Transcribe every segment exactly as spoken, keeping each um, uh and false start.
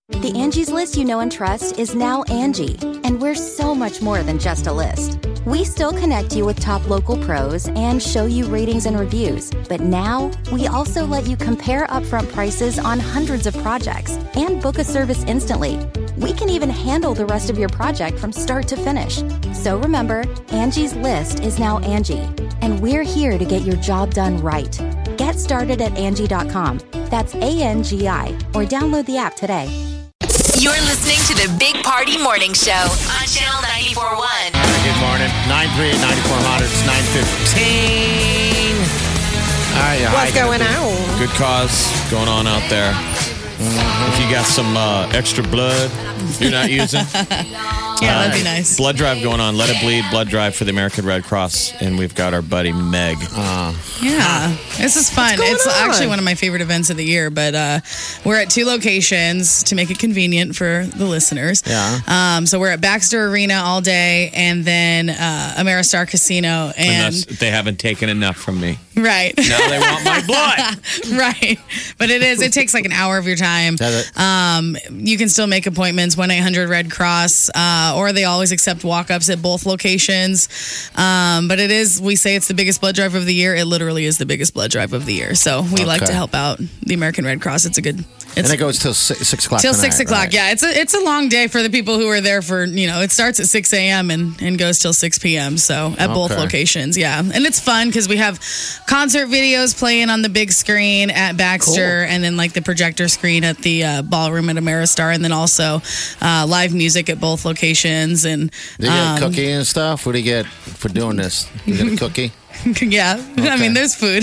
The Angie's List you know and trust is now Angie, and we're so much more than just a list. We still connect you with top local pros and show you ratings and reviews, but now we also let you compare upfront prices on hundreds of projects and book a service instantly. We can even handle the rest of your project from start to finish. So remember, Angie's List is now Angie, and we're here to get your job done right. Get started at Angie dot com. That's A N G I, or download the app today. You're listening to the Big Party Morning Show on Channel ninety-four point one. All right, good morning. nine three eight, nine four hundred. It's nine fifteen. All right, What's hi, going good, on? Good cause going on out there. Mm-hmm. If you got some uh, extra blood you're not using. Yeah, that'd be nice. Blood drive going on. Let It Bleed blood drive for the American Red Cross. And we've got our buddy Meg. Uh, yeah, this is fun. It's on? actually one of my favorite events of the year, but uh, we're at two locations to make it convenient for the listeners. Yeah. Um, so we're at Baxter Arena all day and then uh, Ameristar Casino. And Unless they haven't taken enough from me. Right. Now they want my blood. Right. But it is, it takes like an hour of your time. Does it? Um, you can still make appointments, one eight hundred Red Cross, uh, or they always accept walk-ups at both locations. Um, but it is, we say it's the biggest blood drive of the year. It literally is the biggest blood drive of the year. So we like Okay. to help out the American Red Cross. It's a good, And it's it goes till six, six o'clock till tonight, six o'clock. right? Yeah, it's a it's a long day for the people who are there for, you know, it starts at six a.m. and, and goes till six p.m. So at both Okay. locations, yeah. And it's fun because we have concert videos playing on the big screen at Baxter and then like the projector screen at the uh, ballroom at Ameristar, and then also uh, live music at both locations. And Do you get um, a cookie and stuff? What do you get for doing this? You get a cookie? yeah, I mean, there's food.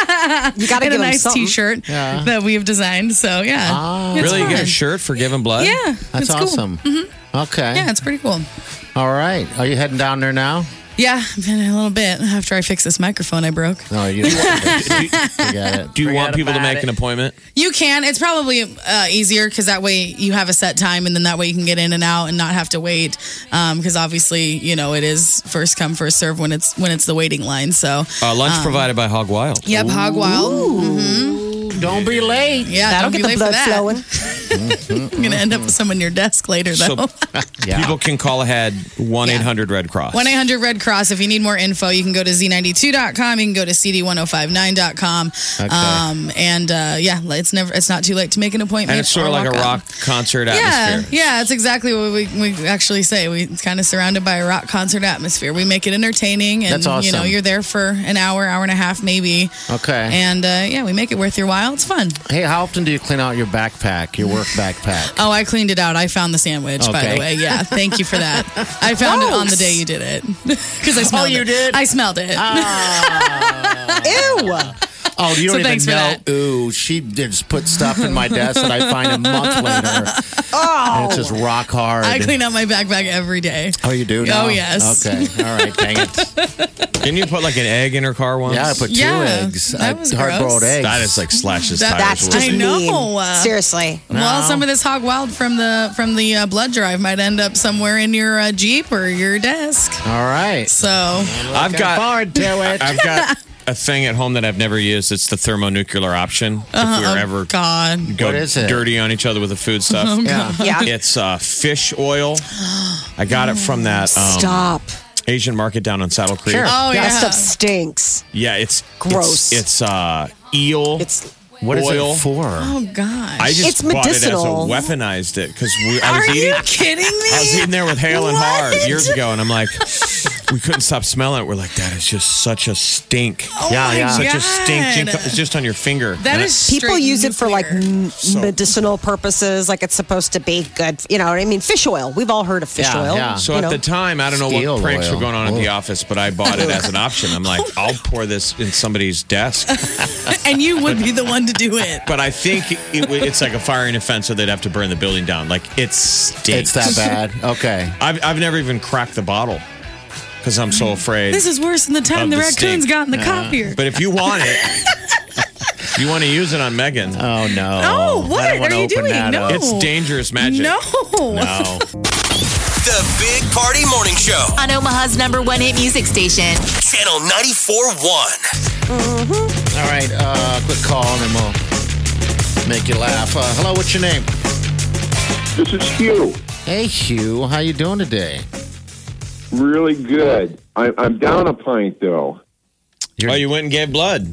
You got to and give a them nice something. T-shirt Yeah. that we have designed. So yeah, Ah. It's Really? You get a fun. shirt for giving blood? Yeah, That's it's cool. awesome. Mm-hmm. Okay. Yeah, it's pretty cool. All right. Are you heading down there now? Yeah, been a little bit after I fixed this microphone I broke. No, you Forget it. Do you want people to make an appointment? You can. It's probably uh, easier because that way you have a set time, and then that way you can get in and out and not have to wait. Because obviously, you know, it is first come first serve when it's when it's the waiting line. So Uh, lunch provided by Hog Wild. yep, Hog Wild. Mm-hmm. Don't be late. Yeah, That'll don't get be the late for blood that. flowing. I'm gonna end up with some on your desk later, though. So people can call ahead one eight hundred Red Cross. one eight hundred Red Cross. If you need more info, you can go to Z ninety-two dot com. You can go to C D one oh five nine dot com. Okay. Um, and uh, yeah, it's never it's not too late to make an appointment. And it's sort or of like a walk up. rock concert Yeah, atmosphere. yeah, it's exactly what we, we actually say. We it's kind of surrounded by a rock concert atmosphere. We make it entertaining, and That's awesome. you know you're there for an hour, hour and a half, maybe. Okay. And uh, yeah, we make it worth your while. It's fun. Hey, how often do you clean out your backpack, your work backpack? Oh, I cleaned it out. I found the sandwich, by Okay. the way. Yeah, thank you for that. I found it on the day you did it because I smelled you it. did? I smelled it. Ew. Oh, you don't So thanks even for know. that. Ooh, she did just put stuff in my desk that I find a month later. Oh. And it's just rock hard. I clean out my backpack every day. Oh, you do now? Oh, yes. Okay. All right. Dang it. Didn't you put like an egg in her car once? Yeah, I put two Yeah, eggs. that I- was hard-boiled gross. eggs. That is like slashes That- tires. That's just I know. mean. Uh, Seriously. Well, No. some of this hog wild from the from the uh, blood drive might end up somewhere in your uh, Jeep or your desk. All right. So I've got forward to it. I've got a thing at home that I've never used. It's the thermonuclear option. Uh-huh. If we were Oh, ever God. go What is it? dirty on each other with the food stuff. Oh, Yeah. God. Yeah. It's uh, fish oil. I got it from that um, Stop. Asian market down on Saddle Creek. Sure. Oh, yeah. That stuff stinks. Yeah, it's Gross. It's, it's uh, eel. It's What is oil. it for? Oh, gosh. I just It's bought medicinal. it as a weaponized it because I was Are eating. you kidding me? I was eating there with Hale and What? Hard years ago, and I'm like, we couldn't stop smelling it. We're like, that is just such a stink. Oh, Yeah, my yeah. Such God. a stink. It's just on your finger. That And is people straight use it for like nuclear. m- medicinal purposes, like it's supposed to be good. You know what I mean? Fish oil. We've all heard of fish Yeah, oil. yeah. So you at know. the time, I don't know Steel what pranks oil. were going on at the Ugh. office, but I bought it as an option. I'm like, I'll pour this in somebody's desk. And you would be the one to do it. But I think it, w- it's like a firing offense, so they'd have to burn the building down. Like, it stinks. It's that bad. Okay. I've, I've never even cracked the bottle because I'm so afraid. This is worse than the time Of the the raccoons stink. got in the copier. But if you want it, if you want to use it on Megan, Oh no. Oh, what I don't are wanna you open doing? that No. up. it's dangerous magic. No. No. The Big Party Morning Show. On Omaha's number one hit music station. Channel ninety-four point one. All right. Uh, quick call and then we'll make you laugh. Uh, hello. What's your name? This is Hugh. Hey, Hugh. How you doing today? Really good. I, I'm down a pint, though. You're, oh, you went and gave blood.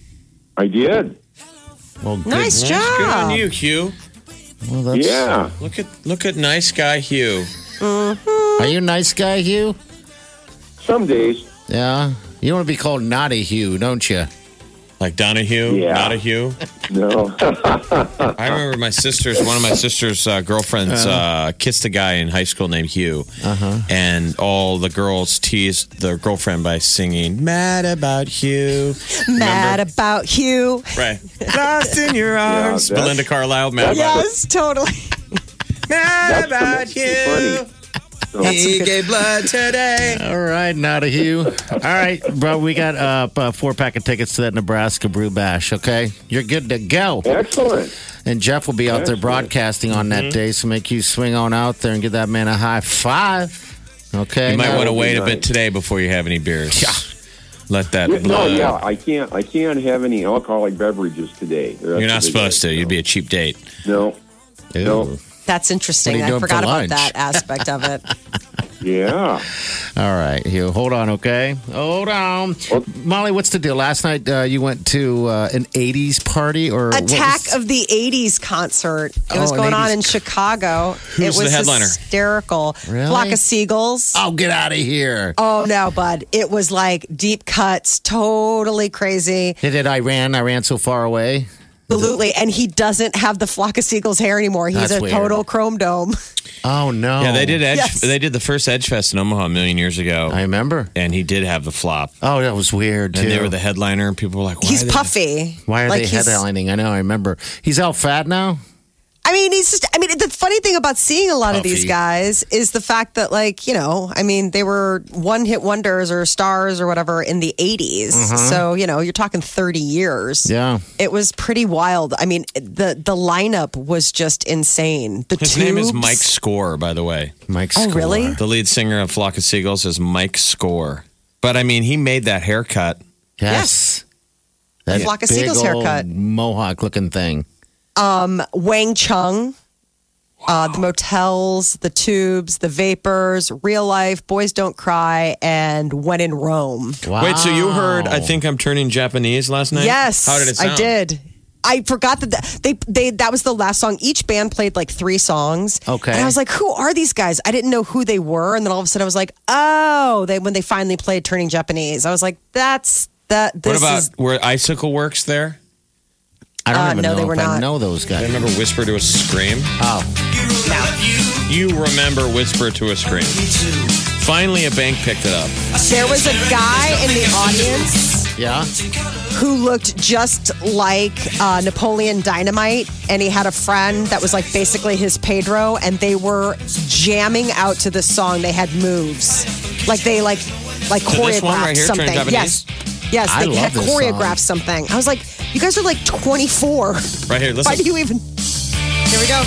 I did. Well, good. Nice Good job. on you, Hugh. Well, that's, Yeah. Look at look at nice guy Hugh. Are you a nice guy, Hugh? Some days. Yeah. You want to be called Naughty Hugh, don't you? Like Donahue, Yeah. not a Hugh. No. I remember my sister's, one of my sister's uh, girlfriends uh, kissed a guy in high school named Hugh. Uh-huh. And all the girls teased their girlfriend by singing, Mad About Hugh. Mad about Hugh. Right. Lost in your arms. Yeah, that's- Belinda Carlisle, Mad About Yes, totally. Mad That's About pretty Hugh. funny. He gave blood today. All right, Naughty Hugh. All right, bro, we got uh, a four-pack of tickets to that Nebraska Brew Bash, okay? You're good to go. Excellent. And Jeff will be out there Excellent. broadcasting on that day, so make you swing on out there and give that man a high five. Okay? You might Now- want to would be wait a nice. bit today before you have any beers. Yeah. Let that Yeah, no, blood. yeah, I can't. I can't have any alcoholic beverages today. You're not supposed to. You'd be a cheap date. No. No. That's What are interesting. you I doing for forgot about lunch? that aspect of it. Yeah. All right, Hugh. Hold on, okay? Hold on. Well- Molly, what's the deal? Last night uh, you went to uh, an eighties party or what Attack was- of the eighties concert. It was Oh, an going on eighties in Chicago. Who's it was the headliner? hysterical. Really? Flock of Seagulls. Oh, get out of here. Oh no, bud. It was like deep cuts, totally crazy. They did Iran. I ran so far away. Absolutely. And he doesn't have the Flock of Seagulls hair anymore. He's That's a weird. total chrome dome. Oh, no. Yeah, they did Edge. Yes. They did the first Edge Fest in Omaha a million years ago, I remember. and he did have the flop. Oh, that was weird, too. And they were the headliner, and people were like, Why He's are they- puffy. Why are Like, they he's- headlining? I know, I remember. He's all fat now? I mean, he's just, I mean, the funny thing about seeing a lot of these Puffy. guys is the fact that, like, you know, I mean, they were one hit wonders or stars or whatever in the eighties. So, you know, you're talking thirty years. Yeah. It was pretty wild. I mean, the the lineup was just insane. The His name is Tubes- Mike Score, by the way. Mike Oh, Score. really? The lead singer of Flock of Seagulls is Mike Score. But I mean, he made that haircut. Yes. That Flock of big Seagulls old haircut. Mohawk looking thing. Wang Chung. Uh, the Motels, the Tubes, the Vapors, Real Life, Boys Don't Cry, and When in Rome. Wow. Wait, so you heard I Think I'm Turning Japanese last night? Yes, How did it sound? I did. I forgot that th- they they that was the last song. Each band played like three songs. Okay. and I was like, "Who are these guys?" I didn't know who they were, and then all of a sudden I was like, "Oh!" They when they finally played "Turning Japanese," I was like, "That's that." What This about is were Icicle Works there? I don't Uh, even no, know they if were I not. know those I guys. remember Whisper to a Scream. Oh. You remember Whisper to a Scream. Finally, a bank picked it up. there was a guy in the audience Yeah? who looked just like uh, Napoleon Dynamite, and he had a friend that was like basically his Pedro, and they were jamming out to this song. They had moves, like they like like So this choreographed one right here, something. Turn Japanese? Yes, yes, I they love had this choreographed something. I was like, you guys are like twenty-four. Right here, listen. Why do you even? Here we go.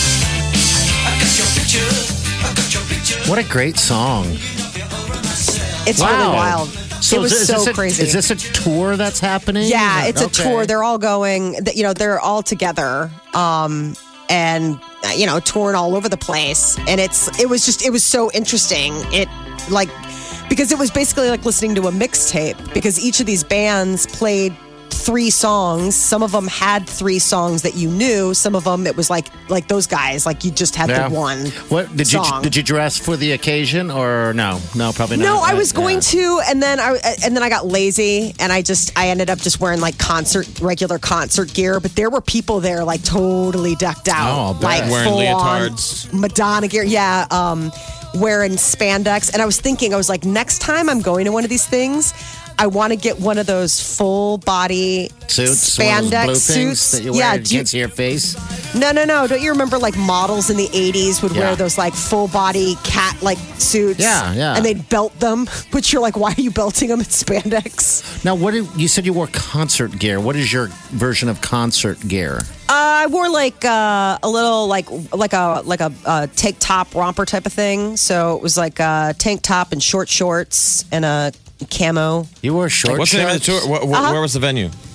What a great song. It's Wow. really wild. So it was is, so this a, crazy. Is this a tour that's happening? Yeah, it's a Okay. tour. They're all going. th- You know, they're all together, um, and uh, you know, touring all over the place. And it's it was just it was so interesting. It like because it was basically like listening to a mixtape because each of these bands played three songs. Some of them had three songs that you knew. Some of them it was like like those guys. Like you just had Yeah. the one. What did song. you did you dress for the occasion or no? No, probably not. No, I Uh, was going yeah. to, and then I and then I got lazy, and I just I ended up just wearing like concert regular concert gear. But there were people there like totally decked out, Oh, I'll bet. like Wearing full leotards. on Madonna gear. Yeah, um, wearing spandex, and I was thinking, I was like, next time I'm going to one of these things, I want to get one of those full body Suits, one of those spandex blue things suits. that you wear yeah, you do you- can't see your face. no, no, no. Don't you remember like models in the eighties would Yeah. wear those like full body cat like suits? Yeah, yeah. And they'd belt them, which you're like, why are you belting them in spandex? Now, what did, you said you wore concert gear? What is your version of concert gear? Uh, I wore like uh, a little like like a like a uh, tank top romper type of thing. So it was like a tank top and short shorts and a camo. You wore short What's the name of the shorts? tour? Wh- wh- Uh-huh. Where was the venue?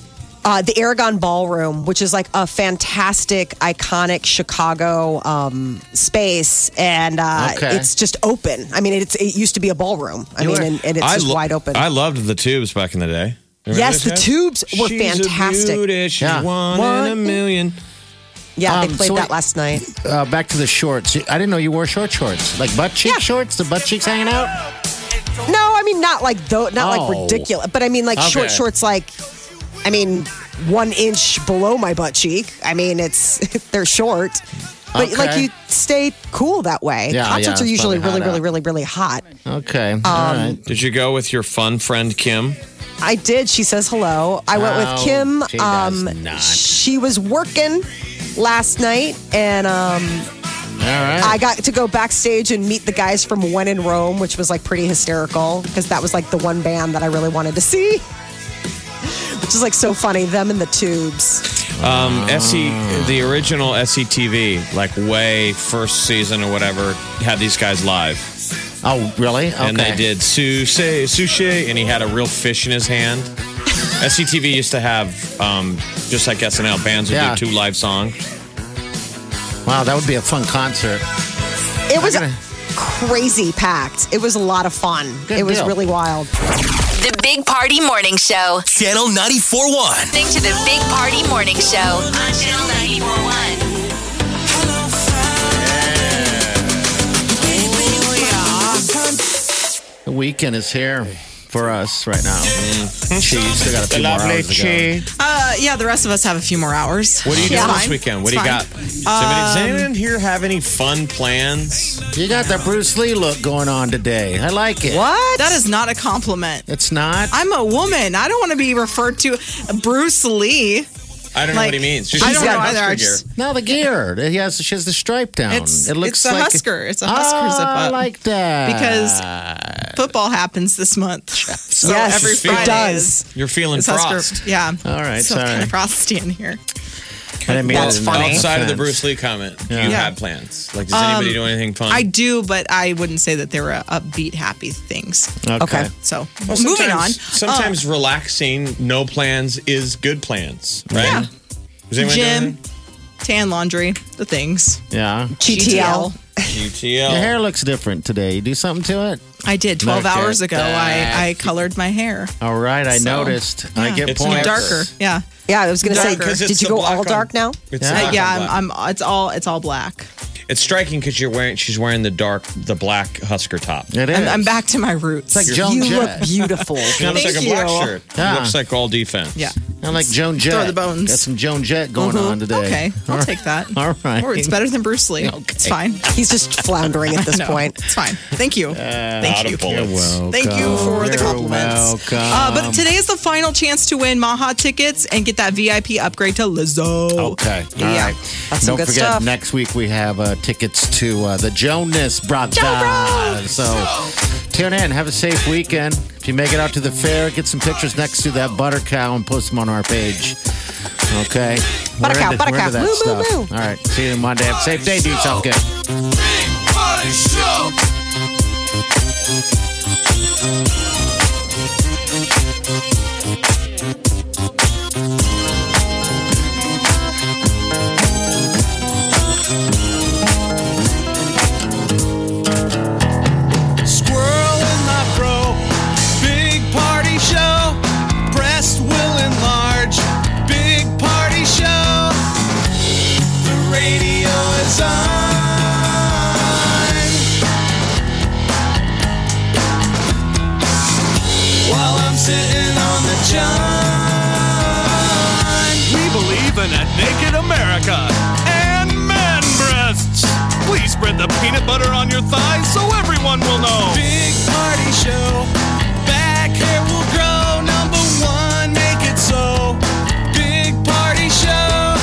Uh, the Aragon Ballroom, which is like a fantastic, iconic Chicago um, space, and uh, Okay. it's just open. I mean, it's it used to be a ballroom. I You mean, were- and, and it's I just lo- wide open. I loved the tubes back in the day. Remember Yes, those the guys? tubes were She's fantastic. A beauty, she's Yeah. one, One in a million. yeah, Um, they played so that wait- last night. Uh, back to the shorts. I didn't know you wore short shorts, like butt cheek Yeah. shorts. The butt cheeks hanging out. No, I mean not like though, not Oh. like ridiculous, but I mean like short Okay. shorts, like I mean one inch below my butt cheek. I mean it's they're short, but Okay. like you stay cool that way. Yeah, Concerts yeah, are it's usually probably really, hot really, out. really, really hot. Okay. Um, All right. Did you go with your fun friend Kim? I did. She says hello. I went with No, Kim. she does um, not. She was working last night, and um, All right. I got to go backstage and meet the guys from When in Rome, which was like pretty hysterical because that was like the one band that I really wanted to see. Which is like so funny, them and the Tubes. Um, S E, the original S E T V, like way first season or whatever, had these guys live. oh, really? Okay. And they did sushi, sushi, and he had a real fish in his hand. S E T V used to have, um, just like S N L, bands would Yeah. do two live songs. Wow, that would be a fun concert. It was gonna- crazy packed. It was a lot of fun. Good it was deal. really wild. The Big Party Morning Show. Channel ninety-four point one. Listening to the Big Party Morning Show on Channel ninety-four point one. The weekend is here for us right now. She still got a few more hours to go. Uh, yeah, the rest of us have a few more hours. What are you doing Yeah. this weekend? What do you got? Does anybody- does anyone here have any fun plans? You got the Bruce Lee look going on today. I like it. What? That is not a compliment. It's not. I'm a woman. I don't want to be referred to Bruce Lee. I don't know Like, what he means. She's I just don't got know either. Husker I gear. just- No, the gear. He has. She has the stripe down. It's- it looks it's a like Husker. It's a Husker oh, zip up. I like that Because football happens this month. So Yes, every it Friday does. is, You're feeling is Husker. frost. Yeah. All right, So sorry. kind of frosty in here. I didn't mean That's it in funny. Outside of the offense. Bruce Lee comment, do you Yeah. have plans? Like, does anybody Um, do anything fun? I do, but I wouldn't say that they were upbeat, happy things. Okay. Okay. So Well, moving on. sometimes- Sometimes relaxing, no plans is good plans, right? Yeah. Does anyone do Gym, anything? tan laundry, the things. Yeah. G T L. U T L. Your hair looks different today. You do something to it? I did. twelve Okay. hours ago, I, I colored my hair. All right. I So, noticed. I Yeah. get It's points. Darker. Yeah. Yeah, I was going to say, Darker. 'Cause it's did you the go black all on- dark now? It's Yeah. black Uh, on yeah, black. I'm, I'm. It's all. It's all black. It's striking because you're wearing. She's wearing the dark, the black Husker top. It is. I'm, I'm back to my roots. It's like Joan You look Jett. beautiful. It looks Thank like a black you. shirt. Yeah. It looks like all defense. yeah. I'm like Joan Jett. Throw the bones. Got some Joan Jett going on today. Okay, I'll All right. take that. All right. Or it's better than Bruce Lee. It's fine. He's just floundering at this No, point. It's fine. Thank you. Thank Out you. of bullets. Welcome. Thank you for the You're compliments. welcome. Uh, but today is the final chance to win Maha tickets and get that V I P upgrade to Lizzo. Okay. All Yeah. right. That's some Don't good forget, stuff. next week we have uh, tickets to uh, the Jonas Brothers. So tune in. Have a safe weekend. If you make it out to the fair, get some pictures next to that butter cow and post them on our page. Okay. Butter We're cow, into- butter we're cow. into that Moo, moo, stuff. moo. All right. See you Monday. Have a safe day. Do yourself good. Big Party Show. Squirrel in my fro. Big party show. Breast will enlarge. Big party show. The radio is on. While I'm sitting on the john. We believe in a naked America and man breasts. Please spread the peanut butter on your thighs so everyone will know. Big party show. Back hair will grow. Number one, make it so. Big party show.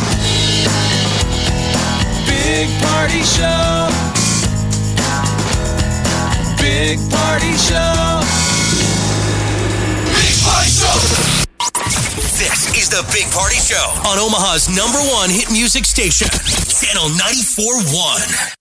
Big party show. Big party show. Big Party Show. This is the Big Party Show on Omaha's number one hit music station, Channel ninety-four point one.